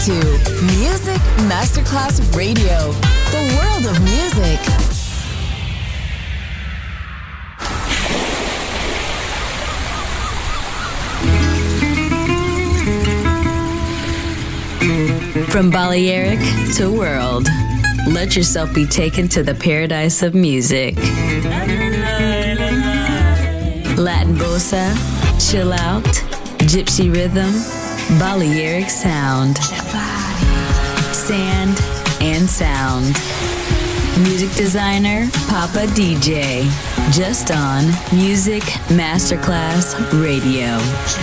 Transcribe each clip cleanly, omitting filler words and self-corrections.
to Music Masterclass Radio, the world of music. From Balearic to world, let yourself be taken to the paradise of music. Latin bossa, chill out, gypsy rhythm, Balearic sound, sand and sound. Music designer, Papa DJ, just on Music Masterclass Radio.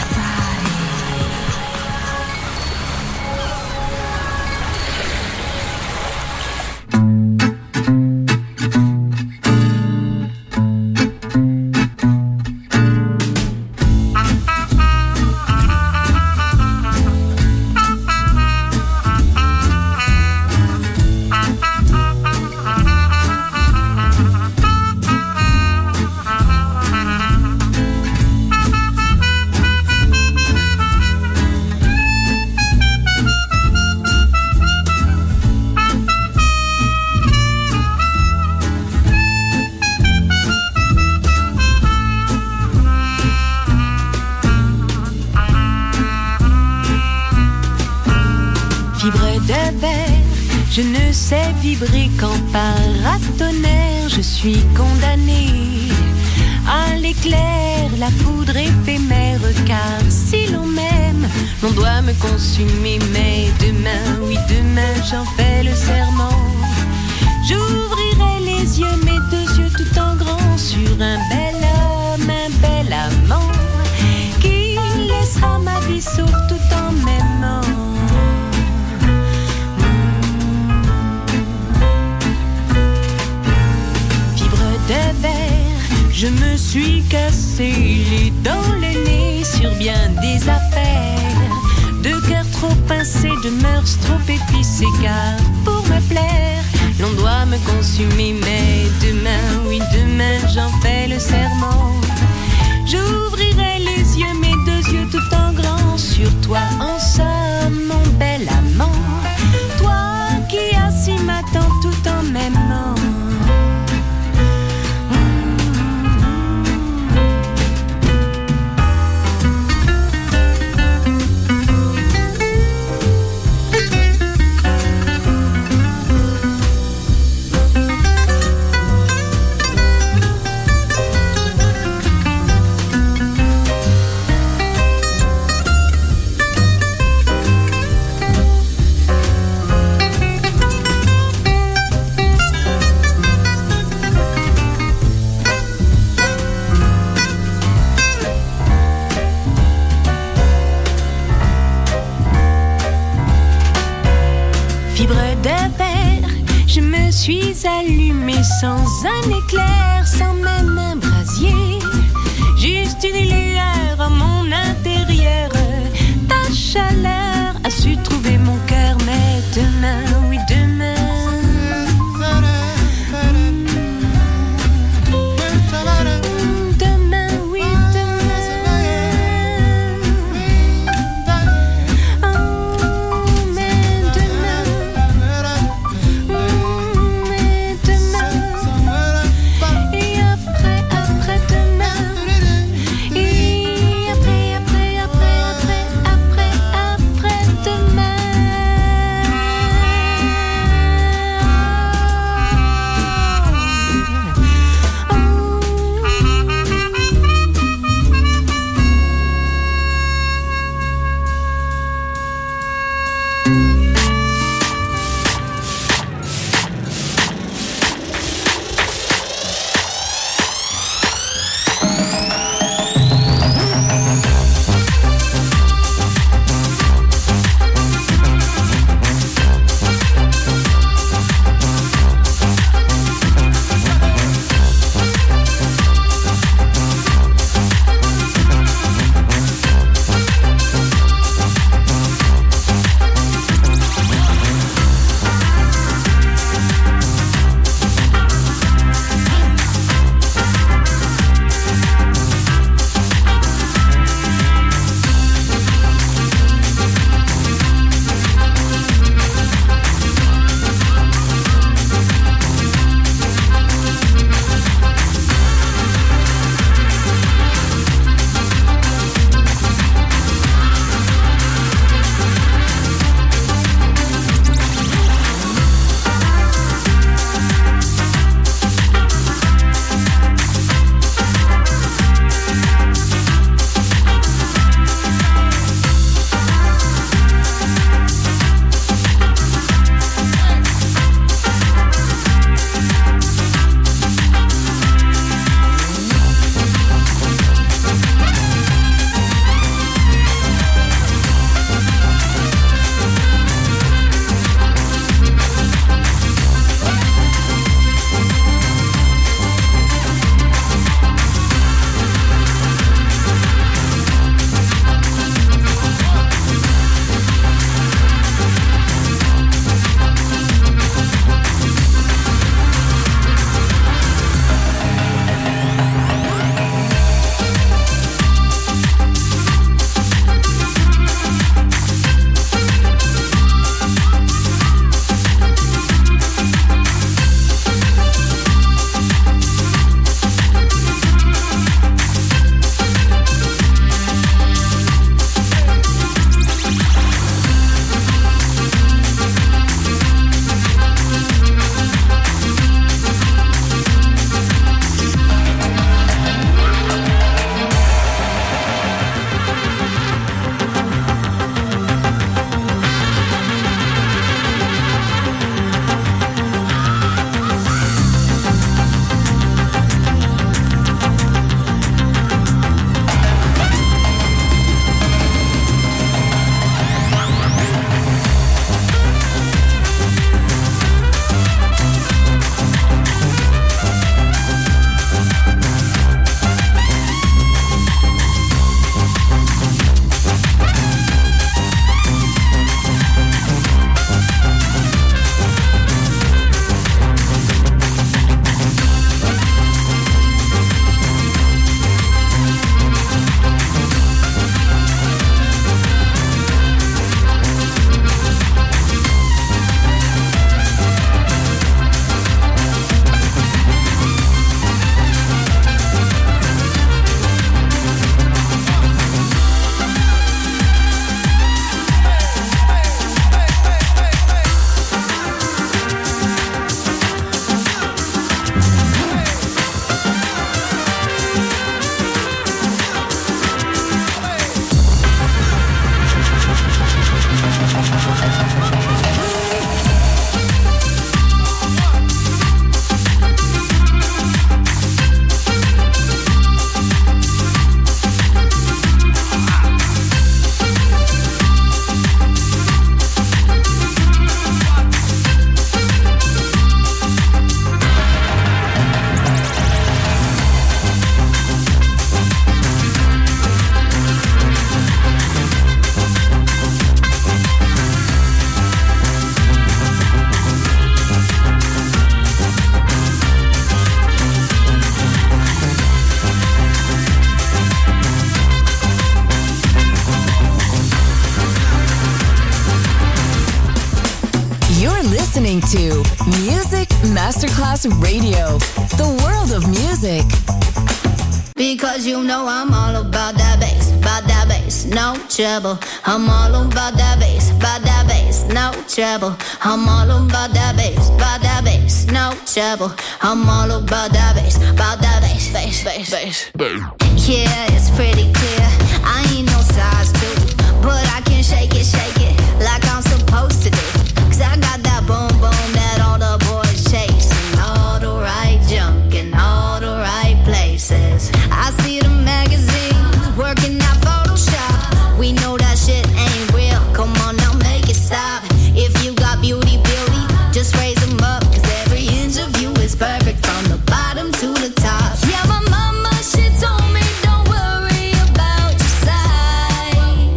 Je ne sais vibrer qu'en paratonnerre. Je suis condamnée à l'éclair, la foudre éphémère. Car si l'on m'aime, l'on doit me consumer. Mais demain, oui demain, j'en fais le serment. J'ouvrirai les yeux, mes deux yeux tout en grand, sur un bel homme, un bel amant, qui laissera ma vie sauve tout en m'aimant. De verre, je me suis cassé les dents, le nez sur bien des affaires. De cœur trop pincé, de mœurs trop épicées. Car pour me plaire, l'on doit me consumer. Mais demain, oui demain, j'en fais le serment. J'ouvrirai les yeux, mes deux yeux tout en grand, sur toi en somme, mon bel amant. Toi qui assis m'attends tout en m'aimant. Je suis allumée sans un éclair, sans même un brasier. Juste une lueur en mon intérieur. Ta chaleur a su trouver mon cœur. Mais demain, oui demain, demain, oui demain, oh, mais demain. Et après listening to Music Masterclass Radio, the world of music. Because you know I'm all about that bass, no trouble. I'm all about that bass, no trouble. I'm all about that bass, no trouble. I'm all about that bass, bass. Yeah, it's pretty clear. I ain't no size 2, but I can shake it like I'm supposed to do. 'Cause I got that boom boom that all the boys chase, and all the right junk in all the right places. I see the magazines working out Photoshop. We know that shit ain't real. Come on now, make it stop. If you got beauty, just raise them up. 'Cause every inch of you is perfect from the bottom to the top. Yeah, my mama, she told me don't worry about your size.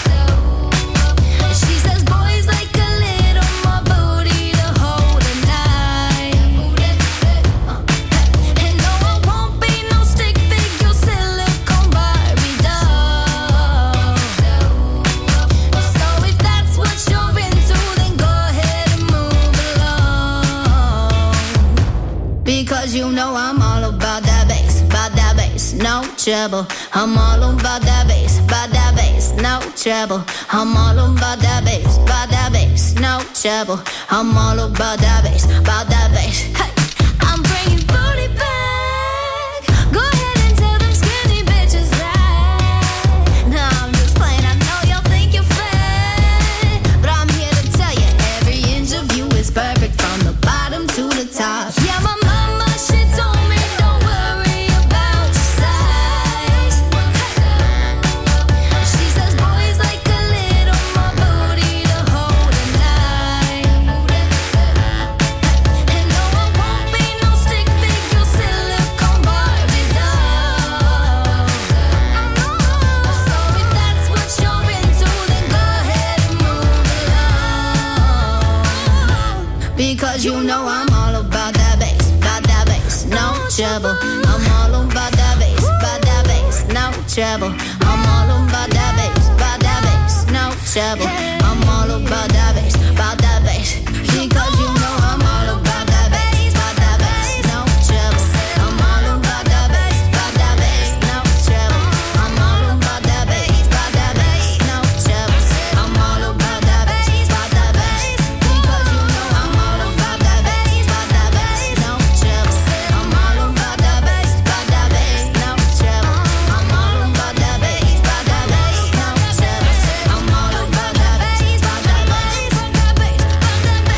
She says boys like a little more booty to hold at night. And no, I won't be no stick figure silicone Barbie doll. So if that's what you're into, then go ahead and move along. Because you know I'm all about that bass, no trouble. I'm all about that bass, no trouble. I'm all about that bass, no trouble. I'm all about that bass, Hey, I'm bringing booty back. Go ahead and tell them skinny bitches that. No, I'm just playing. I know y'all think you're fat, but I'm here to tell you every inch of you is perfect from the bottom to the top. Yeah, my mama, she told me don't worry about your size. She says boys like a little more booty to hold at night. And no, I won't be no stick figure silicone Barbie doll. So if that's what you're into, then go ahead and move along. Because you know I'm all about that bass, no trouble. I'm all about that bass, no trouble. I'm all about that bass, no trouble. I'm all about that bass, because you know I'm all about that bass, no trouble. I'm all about that bass, no trouble. I'm all about that bass, no trouble. I'm all about that bass, because you know I'm all about that bass, no trouble. I'm all about that bass, no trouble. I'm all about that bass, no trouble. I'm all about that bass,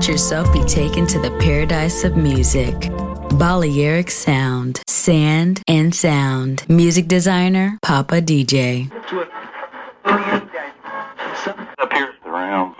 yourself be taken to the paradise of music. Balearic Sound, Sand and Sound. Music designer, Papa DJ. Appears around.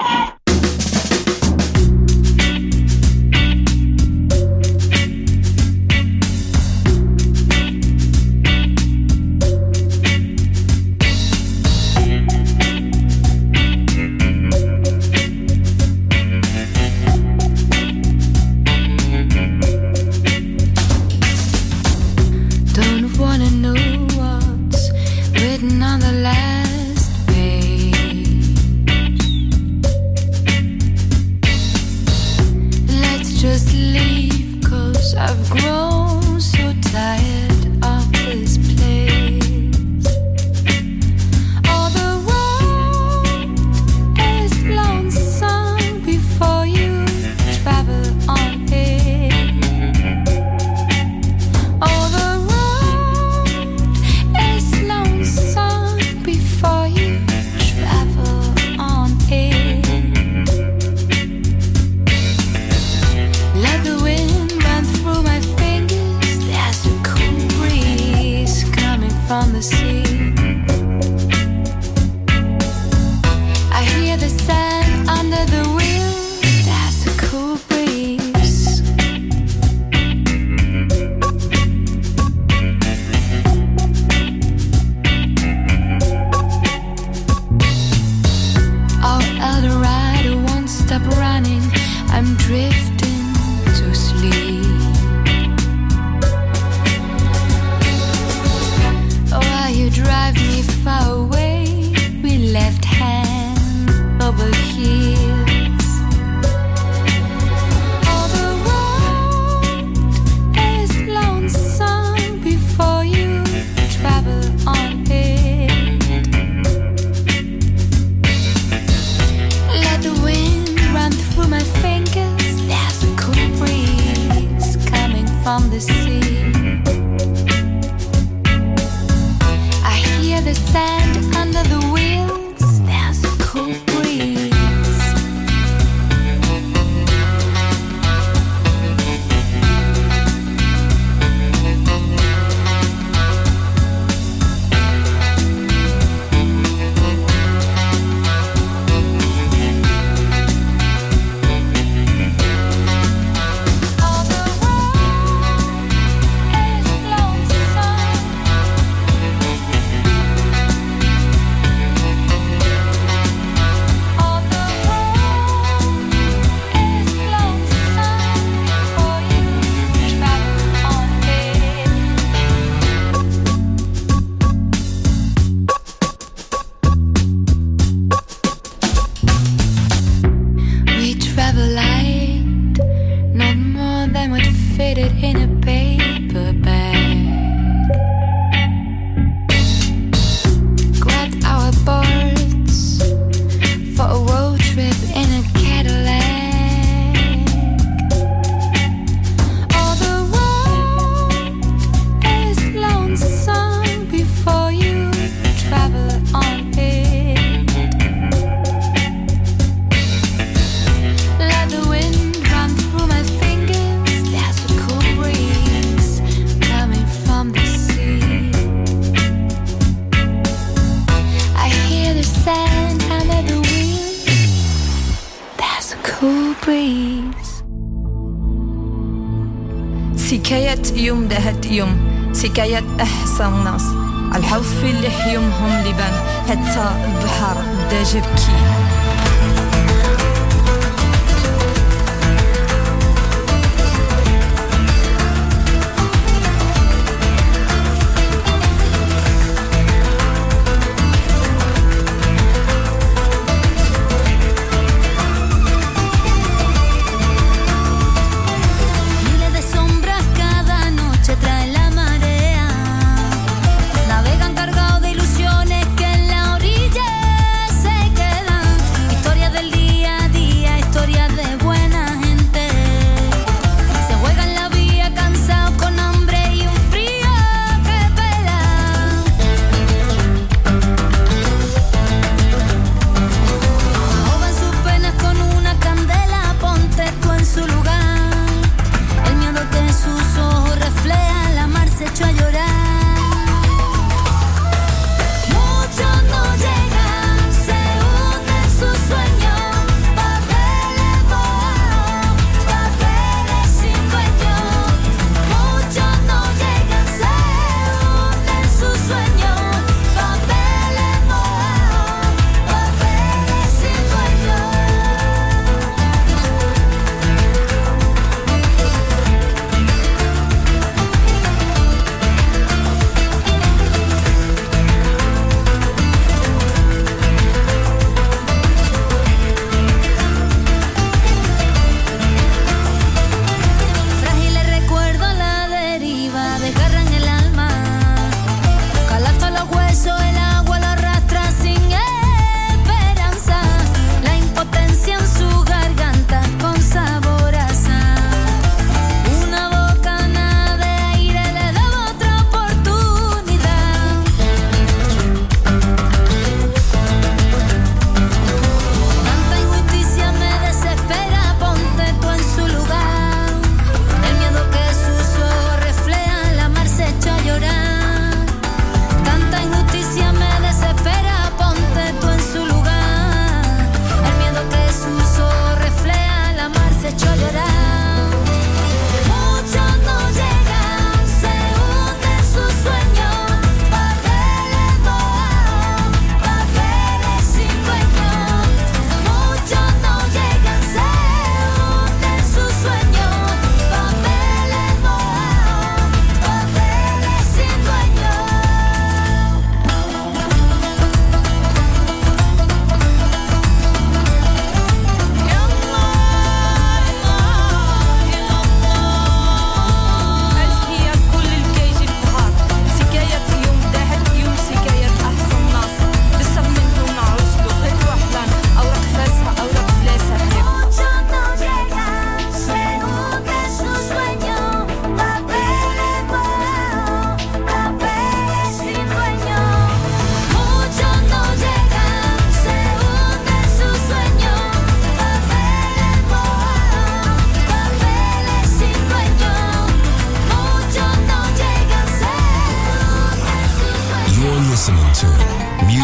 حكاية أحسن ناس الحوف اللي حيومهم لبان حتى البحر بدا جبكي Navegan cargados de ilusiones que en la orilla se quedan.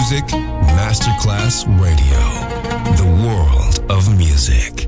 Music Masterclass Radio. The world of music.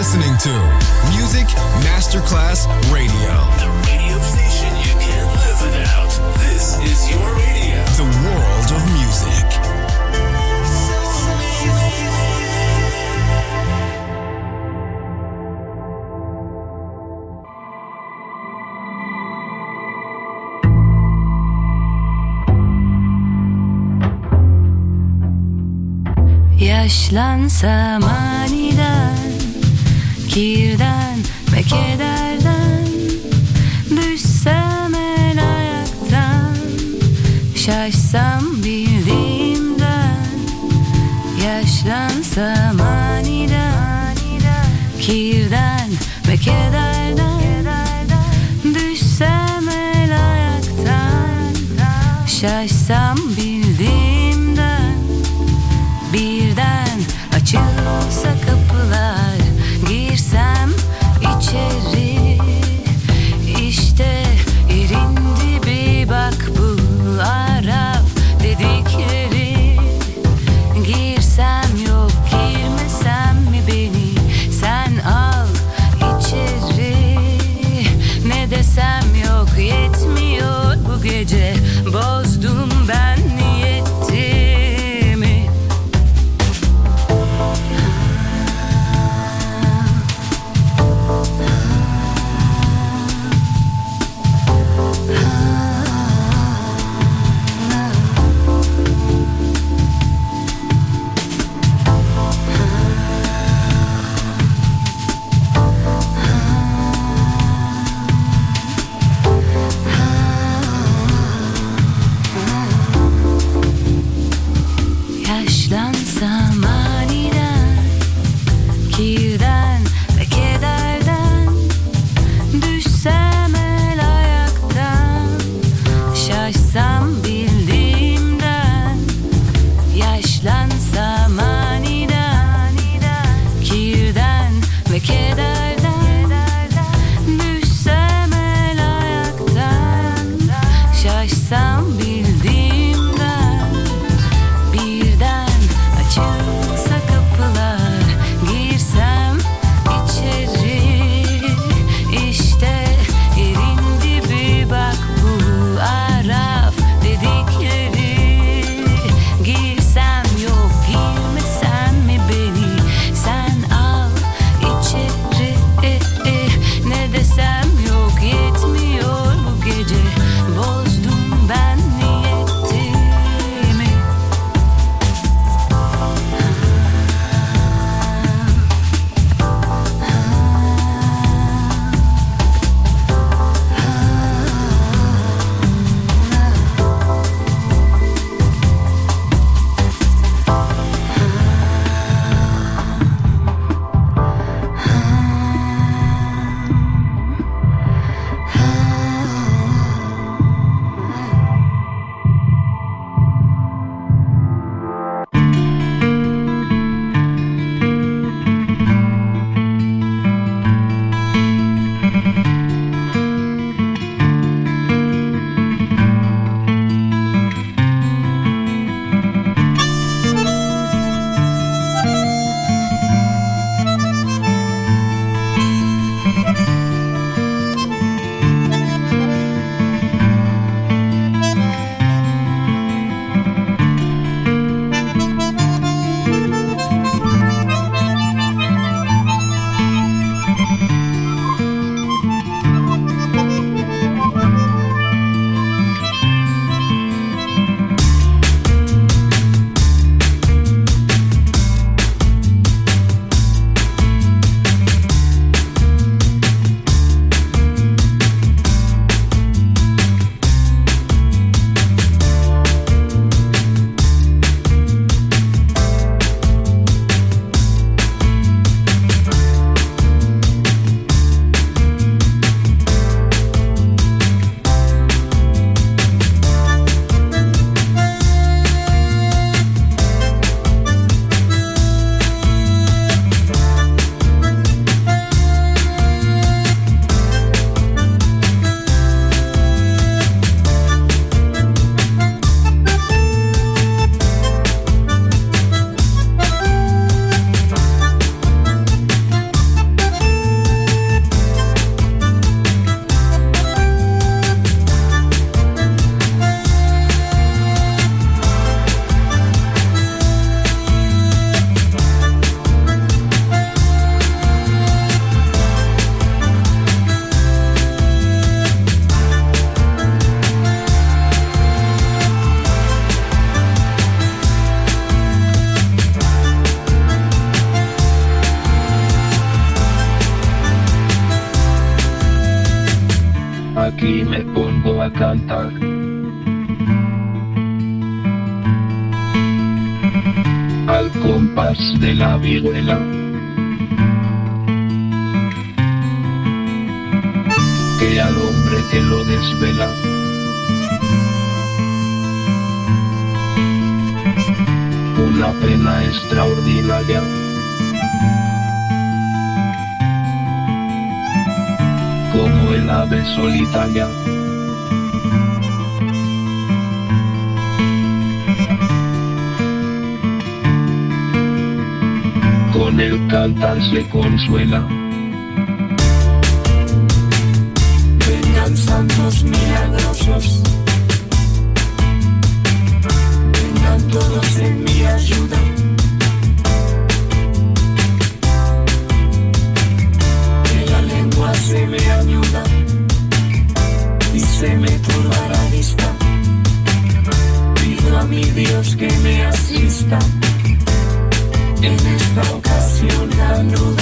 listening to Music Masterclass Radio. The radio station you can't live without. This is your radio. The world of music. Yaşlansam aniden, kirden ve kederden, düşsem el ayaktan, şaşsam bildiğimden. Yaşlansam aniden, kirden ve kederden, düşsem el ayaktan, şaşsam bildiğimden. Birden açılsa kapılar, girsem içeri, işte yerin dibi, bak bu Arap dedikleri. Girsem yok, girmesem mi beni sen al içeri. Ne desem yok, yetmiyor bu gece, bozdum ben niyetimi. Yaşlansam aniden, kirden ve kederden, düşsem el ayaktan, şaşsam bildiğimden. Yaşlansam aniden, kirden ve kederden, düşsem el ayaktan, şaşsam bildiğimden. Birden açılsa kapılar, girsem içeri, işte yerin dibi, bak bu Arap dedikleri. Girsem yok, girmesem mi beni sen al içeri. Aquí me pongo a cantar. Al compás de la vihuela. Que al hombre que lo desvela. Una pena extraordinaria. Como el ave solitaria. Con el cantar se consuela. Vengan santos milagrosos, vengan todos en mi ayuda. Que la lengua se me añuda y se me turba la vista. Pido a mi Dios que me asista en esta ocasión tan ruda.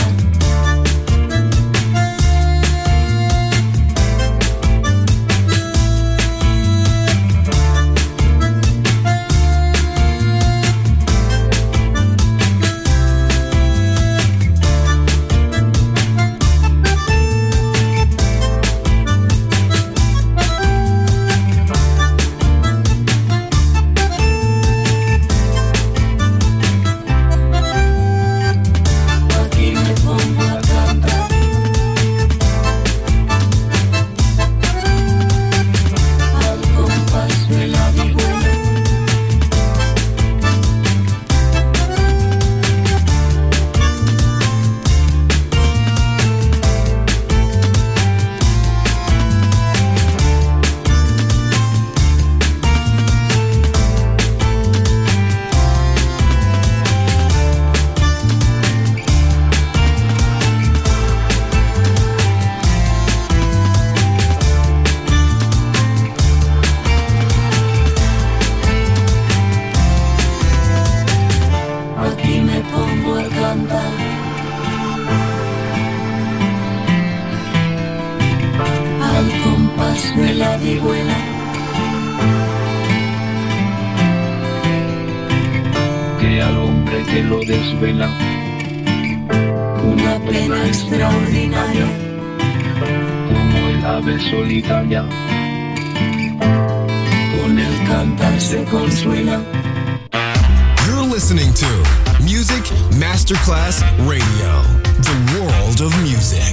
You're listening to Music Masterclass Radio, the world of music.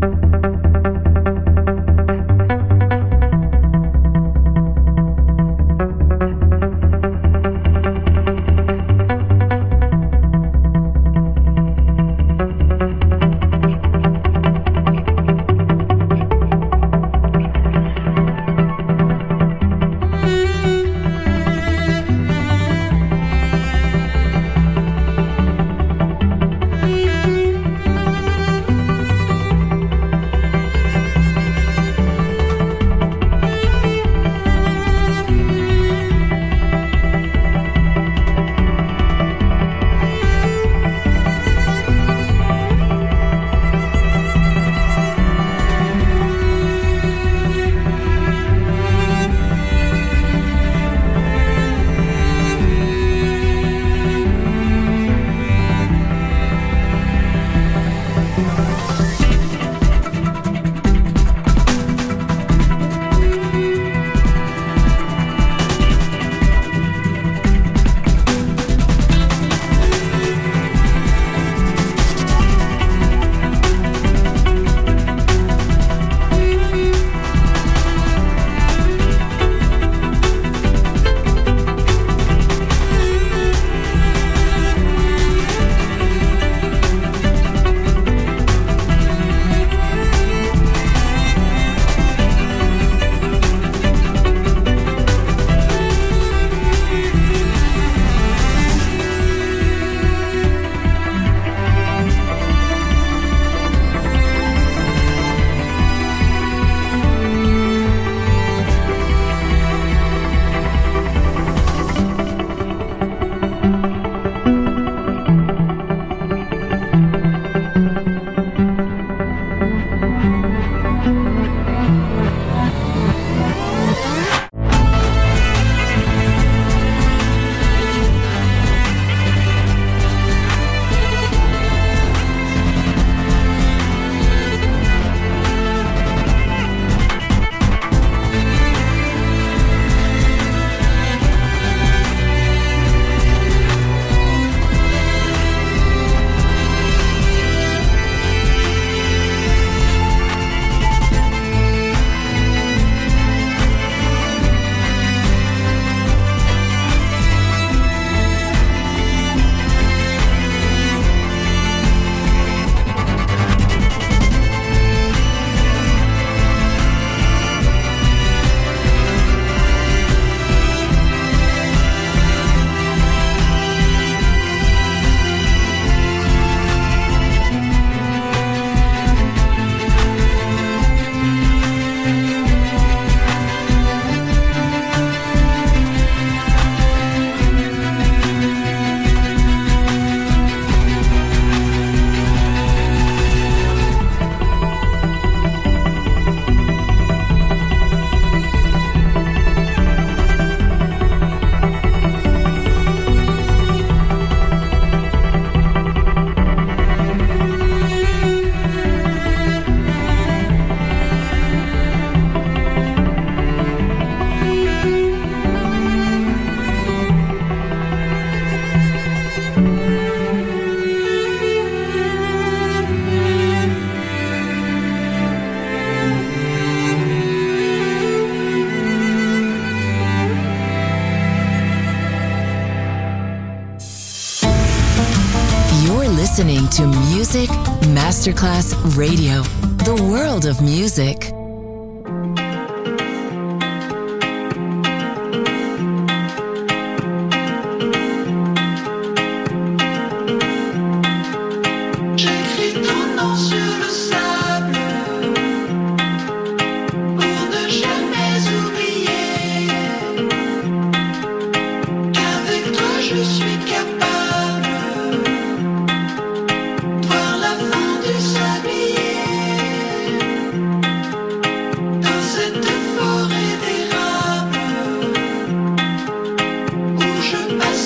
listening to Music Masterclass Radio, the world of music.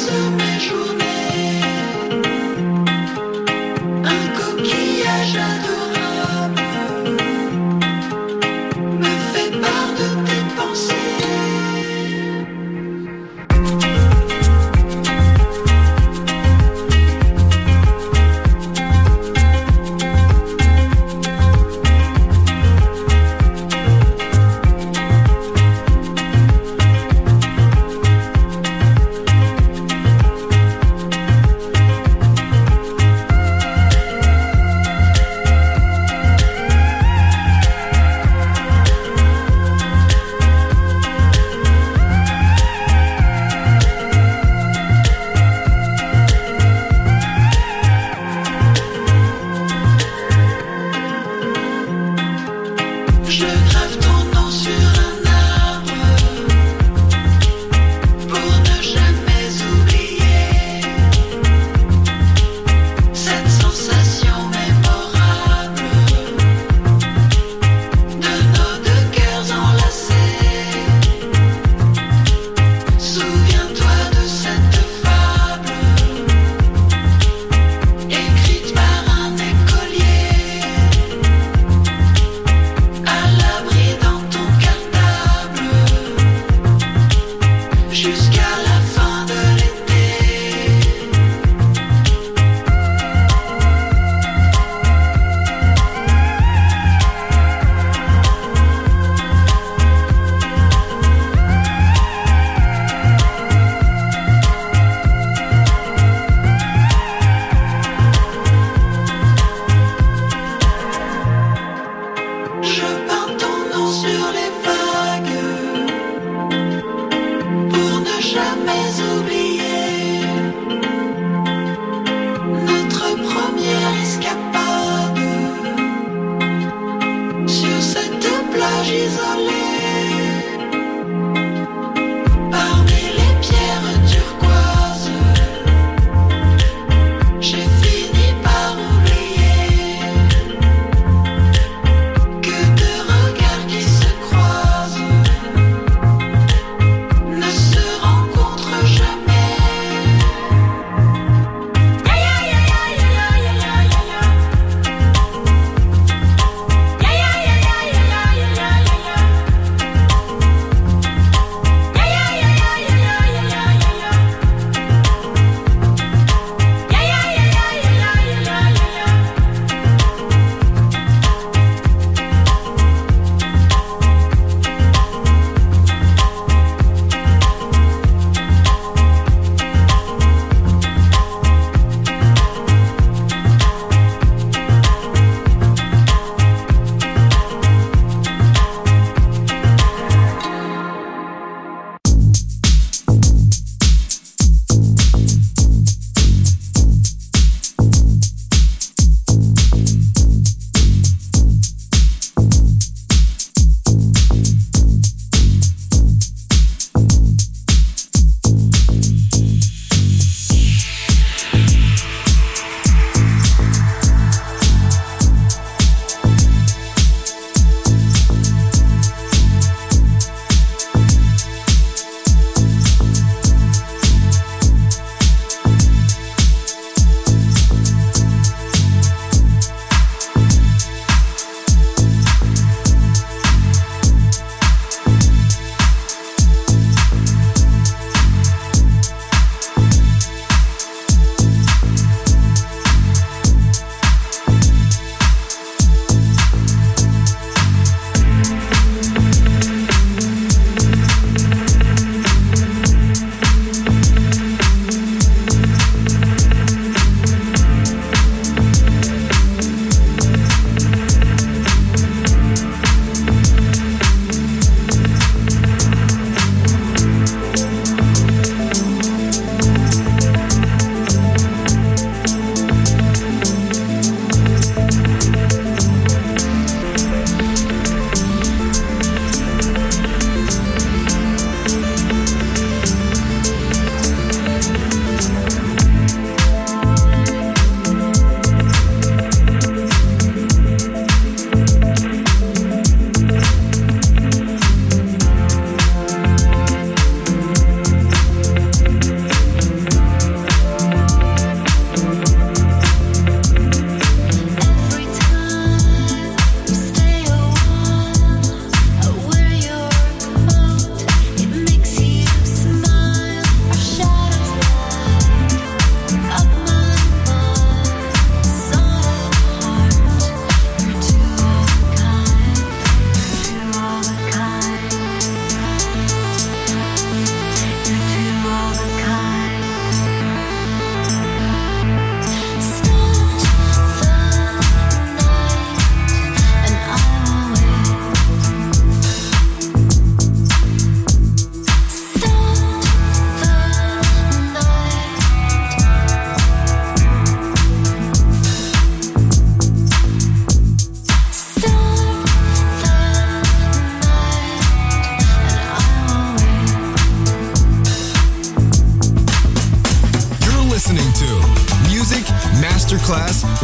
Mes journées, un coquillage à dos.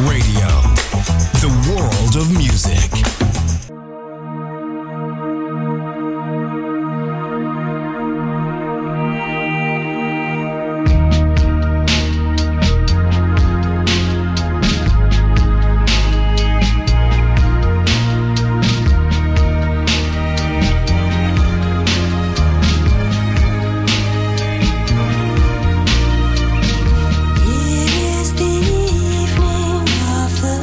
Radio, the world of music. It is the evening of the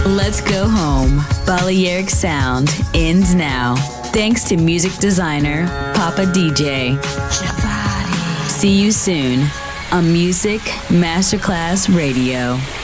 Let's Go Home. Balearic Sound ends now. Thanks to music designer Papa DJ. See you soon on Music Masterclass Radio.